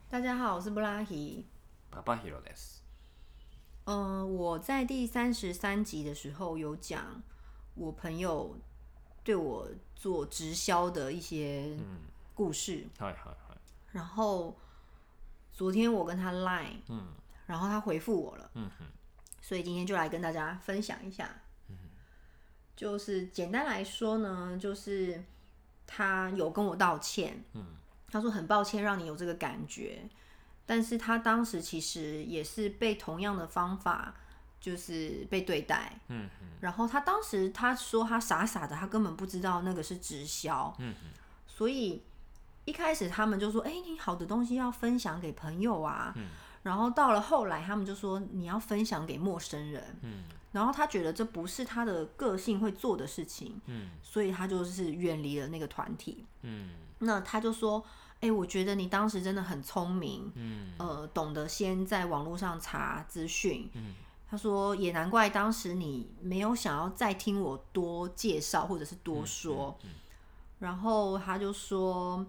大家好，我是布拉希。 パパヒロです。 我在第33集的时候有讲我朋友对我做直销的一些故事， はいはいはい。 然后昨天我跟他 Line，然后他回复我了，所以今天就来跟大家分享一下。就是简单来说呢，就是他有跟我道歉，他说很抱歉让你有这个感觉，但是他当时其实也是被同样的方法就是被对待，然后他当时他说他傻傻的，他根本不知道那个是直销，所以一开始他们就说，你好的东西要分享给朋友啊，然后到了后来他们就说你要分享给陌生人，然后他觉得这不是他的个性会做的事情，所以他就是远离了那个团体。那他就说，我觉得你当时真的很聪明，懂得先在网络上查资讯。他说也难怪当时你没有想要再听我多介绍或者是多说。然后他就说，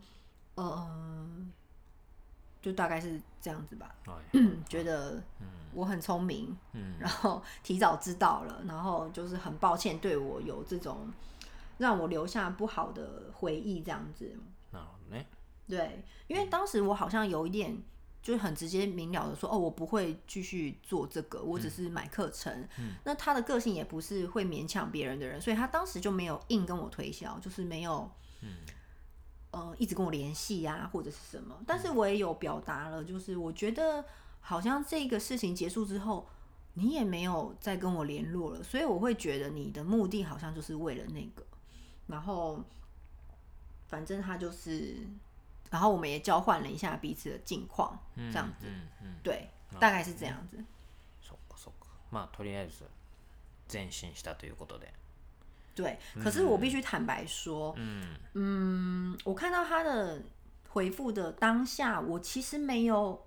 就大概是这样子吧。觉得我很聪明，然后提早知道了，然后就是很抱歉对我有这种让我留下不好的回忆这样子。 なるほどね。 对，因为当时我好像有一点就是很直接明了的说，我不会继续做这个，我只是买课程。那他的个性也不是会勉强别人的人，所以他当时就没有硬跟我推销，就是没有一直跟我联系啊或者是什么。但是我也有表达了，就是我觉得好像这个事情结束之后，你也没有再跟我联络了，所以我会觉得你的目的好像就是为了那个。然后反正他就是，然后我们也交换了一下彼此的近况，这样子。对，大概是这样子。 そっかそっか。まあとりあえず前進したということで。 对，可是我必须坦白说，我看到他的回复的当下，我其实没有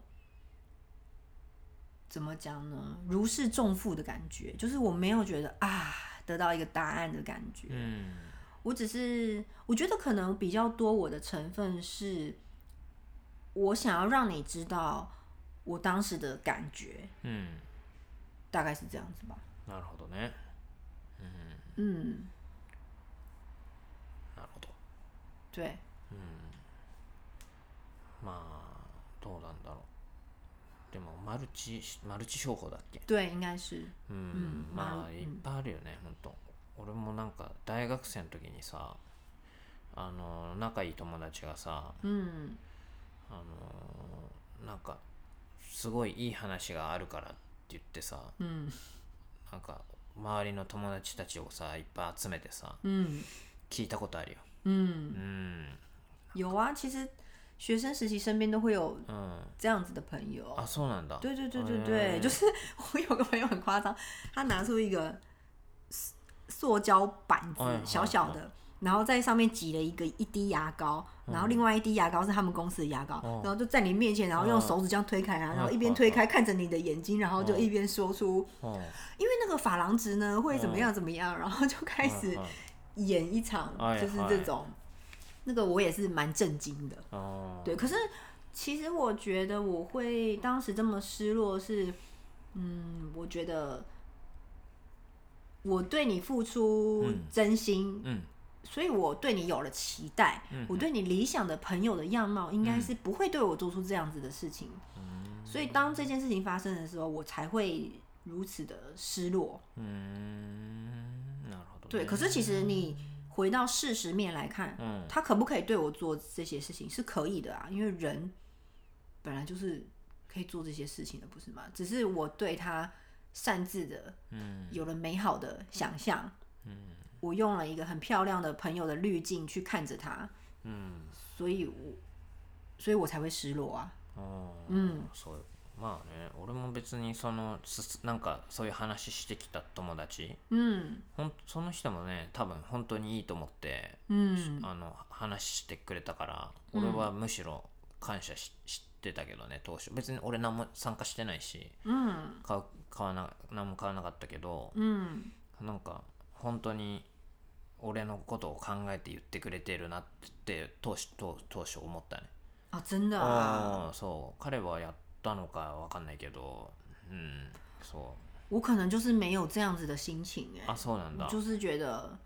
怎么讲呢，如释重负的感觉，就是我没有觉得得到一个答案的感觉。我只是我觉得可能比较多我的成分是，我想要让你知道我当时的感觉，大概是这样子吧。 なるほどね。なるほど。 对。 まあどうなんだろう。でもマルチ商法だっけ？ 对，应该是。 まあいっぱいあるよね、本当。俺もなんか大学生の時にさ、仲いい友達がさ、なんかすごいいい話があるからって言ってさ、なんか周りの友達たちをさいっぱい集めてさ、聞いたことあるよ。 有啊，其实学生时期身边都会有这样子的朋友。 あ、そうなんだ。 对对对对对，就是我有个朋友很夸张，他拿出一个塑胶板子小小的，然后在上面挤了一滴牙膏，然后另外一滴牙膏是他们公司的牙膏，然后就在你面前，然后用手指这样推开啊，然后一边推开看着你的眼睛，然后就一边说出，因为那个珐琅质呢会怎么样怎么样，然后就开始演一场就是这种，那个我也是蛮震惊的。对，可是其实我觉得我会当时这么失落是，我觉得我对你付出真心，所以我对你有了期待，我对你理想的朋友的样貌应该是不会对我做出这样子的事情，所以当这件事情发生的时候，我才会如此的失落。 なるほどね。 对，可是其实你回到事实面来看，他可不可以对我做这些事情是可以的啊，因为人本来就是可以做这些事情的，不是吗？只是我对他擅自的有了美好的想象，我用了一个很漂亮的朋友的滤镜去看着他，所以我才会失落啊。 そう。まあね、俺も別になんかそういう話してきた友達、その人もね多分本当にいいと思って、話してくれたから、俺はむしろ感謝してたけどね、当初別に俺何も参加してないし、何も買わなかったけど、なんか本当に俺のことを考えて言ってくれてるなって当初思ったね。 あ、真的啊。 そう彼はやったのかわかんないけど、そう。 我可能就是没有这样子的心情あ、そうなんだ。 我就是觉得，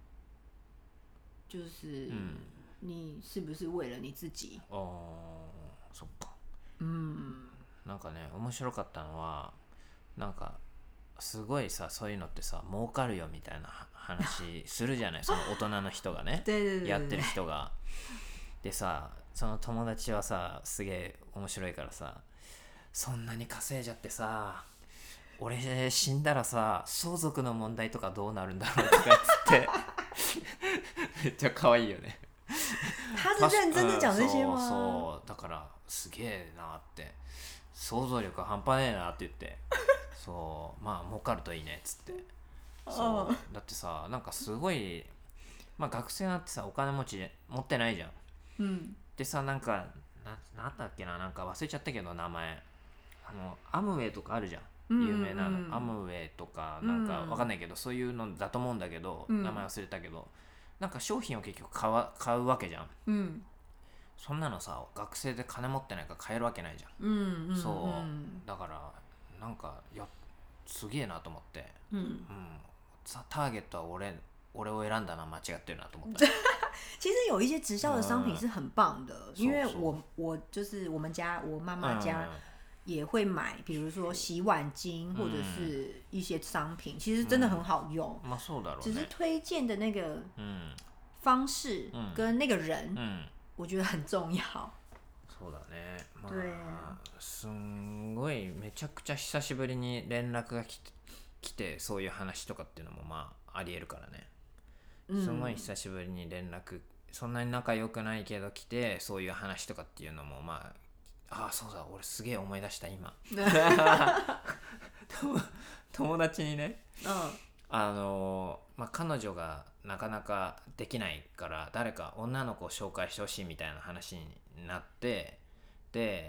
就是你是不是为了你自己？ そっか。なんかね面白かったのはなんかすごいさそういうのってさ儲かるよみたいな話するじゃないその大人の人がねやってる人がでさその友達はさすげえ面白いからさそんなに稼いじゃってさ俺死んだらさ相続の問題とかどうなるんだろうとか言ってめっちゃ可愛いよね他是认真的讲这些吗？ そうだからすげえなって想像力半端ねえなって言ってそうまあ儲かるといいねっつってそうだってさなんかすごいまあ学生なんてさお金持ってないじゃん、でさなんかなんだっけななんか忘れちゃったけど名前アムウェイとかあるじゃん有名なの、アムウェイとかなんかわかんないけど、そういうのだと思うんだけど、名前忘れたけどなんか商品を結局買うわけじゃん、そんなのさ学生で金持ってないから買えるわけないじゃん、そうだからなんかすげえなと思って、ターゲットは俺を選んだな間違ってるなと思った其实有一些直销的商品是很棒的，因为我就是我们家我妈妈家也会买，比如说洗碗巾或者是一些商品，其实真的很好用。 まあそうだろうね。 只是推荐的那个方式跟那个人，我觉得很重要。 そうだね。まあすんごいめちゃくちゃ久しぶりに連絡が来てそういう話とかっていうのもまあありえるからね。すごい久しぶりに連絡そんなに仲良くないけど来てそういう話とかっていうのもまあそうだ俺すげえ思い出した今友達にね、まあ、彼女がなかなかできないから誰か女の子を紹介してほしいみたいな話になってで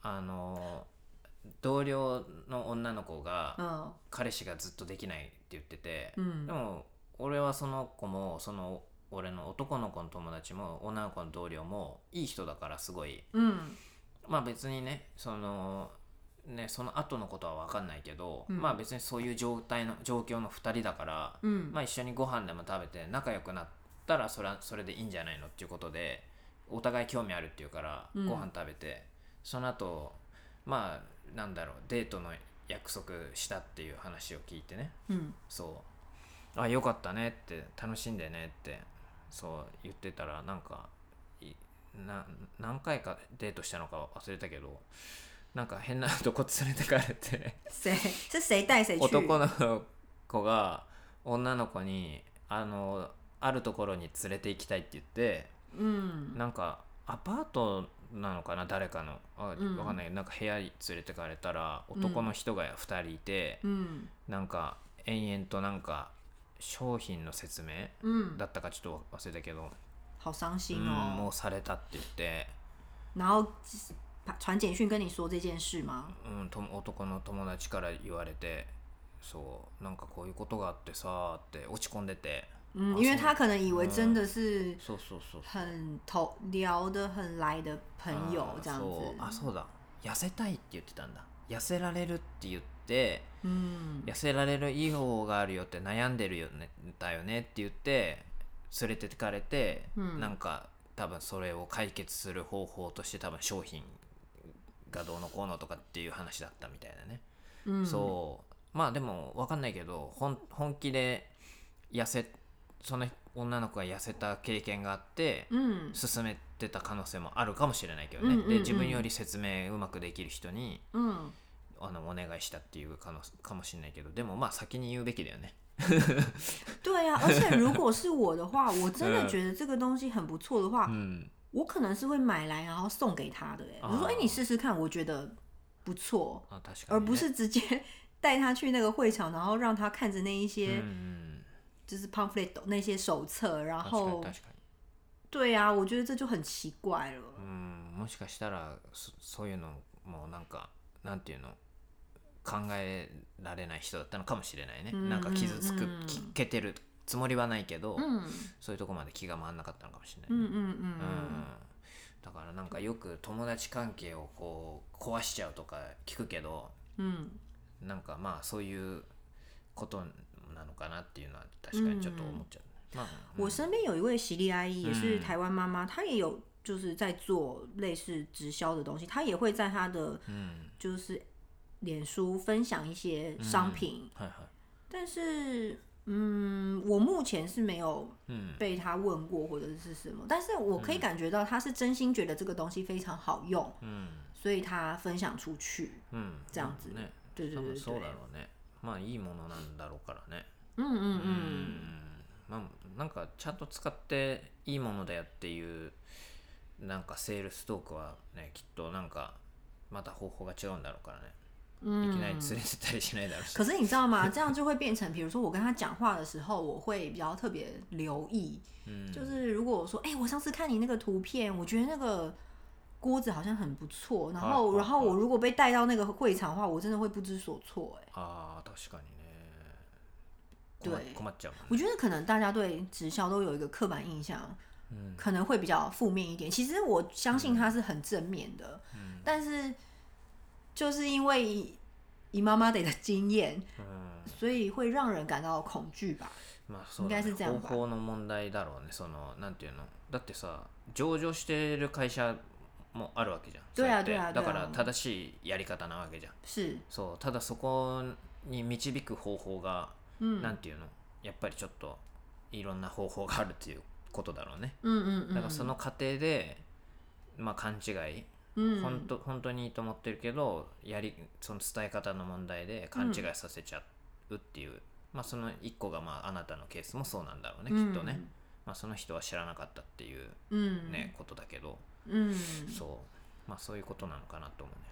同僚の女の子が彼氏がずっとできないって言ってて、でも俺はその子も俺の男の子の友達も女の子の同僚もいい人だからすごい、まあ別にねその後のことは分かんないけど、まあ別にそういう状況の2人だから、まあ一緒にご飯でも食べて仲良くなったらそれでいいんじゃないのっていうことでお互い興味あるっていうからご飯食べて、その後まあなんだろうデートの約束したっていう話を聞いてね、そうよかったねって楽しんでねってそう言ってたらなんか何回かデートしたのか忘れたけどなんか変なとこ連れてかれて誰带谁去男の子が女の子にあるところに連れて行きたいって言って、なんかアパートなのかな誰かの分かんないなんか部屋に連れてかれたら男の人が2人いて、なんか延々となんか商品の説明だったかちょっと忘れたけど、 好伤心哦。 もうされたって言って、 然後傳簡訊跟你說這件事嗎？ 男の友達から言われて、そうなんかこういうことがあってさって落ち込んでて。 因為他可能以為真的是很聊得很來的朋友這樣子。 そうだ痩せたいって言ってたんだ。痩せられるって言って、痩せられるいい方法があるよって悩んでるよねだよねって言って連れてかれて、なんか多分それを解決する方法として多分商品がどうのこうのとかっていう話だったみたいだね、そうまあでも分かんないけど本気でその女の子が痩せた経験があって、進めてた可能性もあるかもしれないけどね、で自分より説明うまくできる人に、お願いしたっていうかもしれないけどでもまあ先に言うべきだよね对啊，而且如果是我的话我真的觉得这个东西很不错的话，我可能是会买来然后送给他的。我说你试试看我觉得不错，而不是直接带他去那个会场然后让他看着那一些就是 pamphlet 那些手册，然后对啊我觉得这就很奇怪了。 もしかしたらそういうのもなんかなんていうの考えられない人だったのかもしれないね、なんか傷つけてるつもりはないけど、そういうとこまで気が回んなかったのかもしれない、 だからなんかよく友達関係をこう壊しちゃうとか聞くけど、なんかまあそういうことなのかなっていうのは確かにちょっと思っちゃう。 我身边有一位喜力阿姨，也是台湾妈妈，她也有就是在做类似直销的东西，她也会在她的就是脸书分享一些商品，但是我目前是没有被她问过或者是什么，但是我可以感觉到她是真心觉得这个东西非常好用，所以她分享出去，这样子，对对对对， そうだろうね。まあいいものなんだろうからね。まあなんかちゃんと使っていいものだよっていうなんかセールストークはね、きっとなんかまた方法が違うんだろうからね。いきなり連れてったりしないだろうし。 可是你知道吗？这样就会变成，比如说我跟他讲话的时候，我会比较特别留意，就是如果我说，我上次看你那个图片，我觉得那个锅子好像很不错，然后我如果被带到那个会场的话，我真的会不知所措。 確かにね。 对， 困っちゃうもんね。 我觉得可能大家对直销都有一个刻板印象，可能会比较负面一点。其实我相信它是很正面的，但是就是因为以妈妈的经验，所以会让人感到恐惧吧。 まあそうだね、應該是这样吧。方法の問題だろうね。そのなんていうの、だってさ、上場してる会社もあるわけじゃん。 对啊对啊。 だから正しいやり方なわけじゃん。そう、ただそこに導く方法が、なんていうの、やっぱりちょっといろんな方法があるっていうことだろうね。だからその過程でまあ勘違い、本当にいいと思ってるけどその伝え方の問題で勘違いさせちゃうっていう、まあその一個がまああなたのケースもそうなんだろうね、きっとね。まあその人は知らなかったっていうね、ことだけど、そうまあそういうことなのかなと思う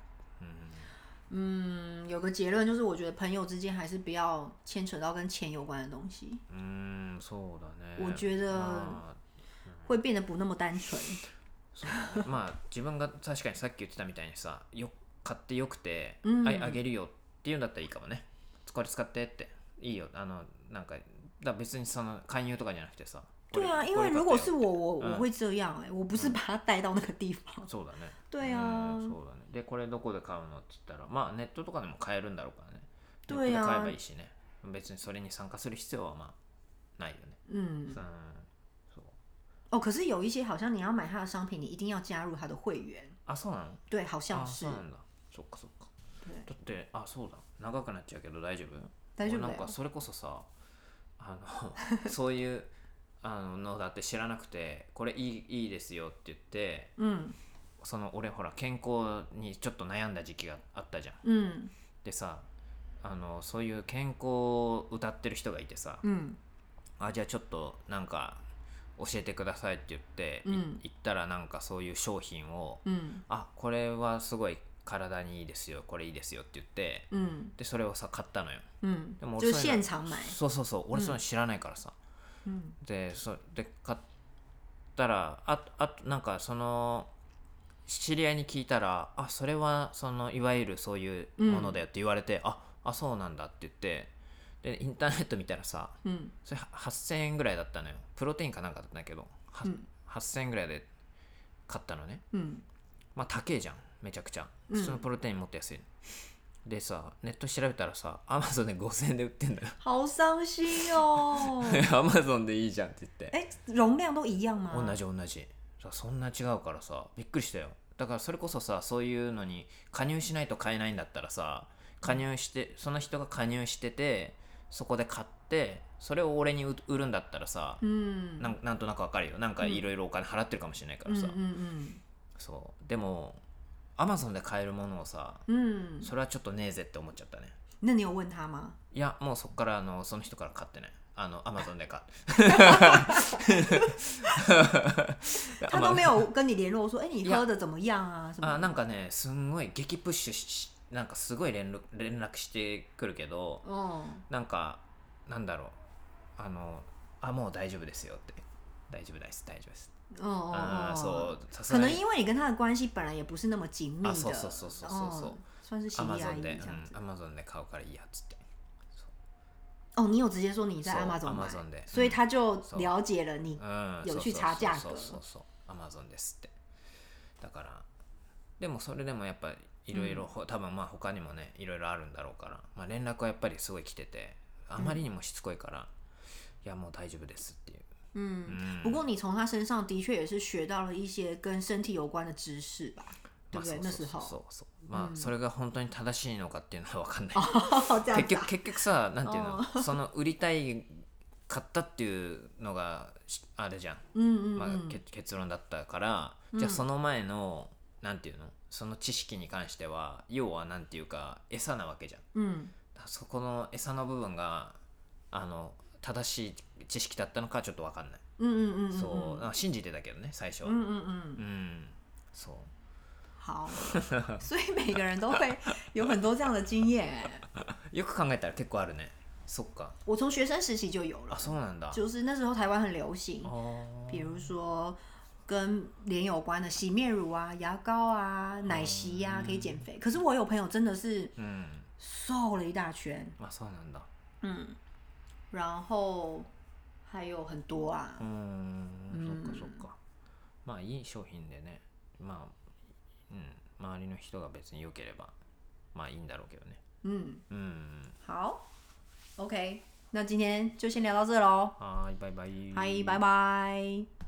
ね。有个结论就是，我觉得朋友之间还是不要牵扯到跟钱有关的东西。 そうだね。 我觉得会变得不那么单纯。 まあ自分が確かにさっき言ってたみたいにさ、買ってよくて、あげるよっていうんだったらいいかもね。これ使ってっていいよ。なんか別にその勧誘とかじゃなくてさ。 对啊，因为如果是我会这样我不是把它带到那个地方。 そうだね。 对啊。 そうだね。でこれどこで買うのって言ったら、まあネットとかでも買えるんだろうからね。ネットで買えばいいしね。別にそれに参加する必要はまあないよね。 可是有一些好像你要買他的商品，你一定要加入他的会員。 そうなの？ 对，好像是。 そうなんだ。そっかそっか。だってそうだ。長くなっちゃうけど大丈夫？ 大丈夫だよ。 なんかそれこそさ、そういうのだって知らなくて、これいいですよって言って、その俺ほら健康にちょっと悩んだ時期があったじゃん。でさ、そういう健康を謳ってる人がいてさ、じゃあちょっとなんか教えてくださいって言って、言ったらなんかそういう商品を、これはすごい体にいいですよ、これいいですよって言って、でそれをさ買ったのよ。 でも俺現場買。 そう俺それ知らないからさ。で買ったらなんかその知り合いに聞いたら、それはそのいわゆるそういうものだよって言われて、そうなんだって言って、でインターネット見たらさ、それ8000円ぐらいだったのよ。プロテインかなんかだったんだけど、8000円ぐらいで買ったのね。まあ高えじゃん、めちゃくちゃ。普通のプロテインもっと安い。でさ、ネット調べたらさ、アマゾンで5000円で売ってんだよ。 好傷心哦。 アマゾンでいいじゃんって言って。 容量都一樣嗎？ 同じ。そんな違うからさ、びっくりしたよ。だからそれこそさ、そういうのに加入しないと買えないんだったらさ、その人が加入してて、そこで買ってそれを俺に売るんだったらさ、なんとなくわかるよ。なんかいろいろお金払ってるかもしれないからさ、そうでもアマゾンで買えるものをさ、それはちょっとねえぜって思っちゃったね。 那你有問他嗎？ いや、もうそっからその人から買ってね。アマゾンで買他都没有跟你聯絡說你喝的怎麼樣啊？ なんかね、すんごい激プッシュなんかすごい連絡してくるけど、なんかなんだろう、もう大丈夫ですよって、大丈夫ですそう可能因为你跟他的关系本来也不是那么紧密的。 そう算是喜利阿姨这样子。Amazonで買うからいいやっつって。 你有直接说你在 Amazon 買，所以他就了解了你有去查價格。 Amazon ですって。 だからでもそれでもやっぱいろいろ多分まあ他にもねいろいろあるんだろうから、まあ、連絡はやっぱりすごい来ててあまりにもしつこいから、いやもう大丈夫ですっていう。 不过你从他身上的确也是学到了一些跟身体有关的知识吧，对不对？那时候まあそれが本当に正しいのかっていうのは分かんない結局さなんていうのその売りたいかったっていうのがあれじゃん、まあ、結論だったから、じゃあその前のなんていうのその知識に関しては要はなんていうか餌なわけじゃん、そこの餌の部分が正しい知識だったのかちょっと分かんない、そう信じてたけどね最初は。そう。 好，所以每个人都会有很多这样的经验。 よく考えたら結構あるね。そっか。 我从学生时期就有了。 あ、そうなんだ。 就是那时候台湾很流行，比如说跟脸有关的洗面乳啊、牙膏啊、奶昔呀、可以减肥。可是我有朋友真的是瘦了一大圈。 あ、そうなんだ。 然后还有很多啊。 そっかそっか。まあいい商品でね。まあ。周りの人が別に良ければまあいいんだろうけどね。 好 OK 那今天就先聊到这咯。 はいバイバイ。 はいバイバイ。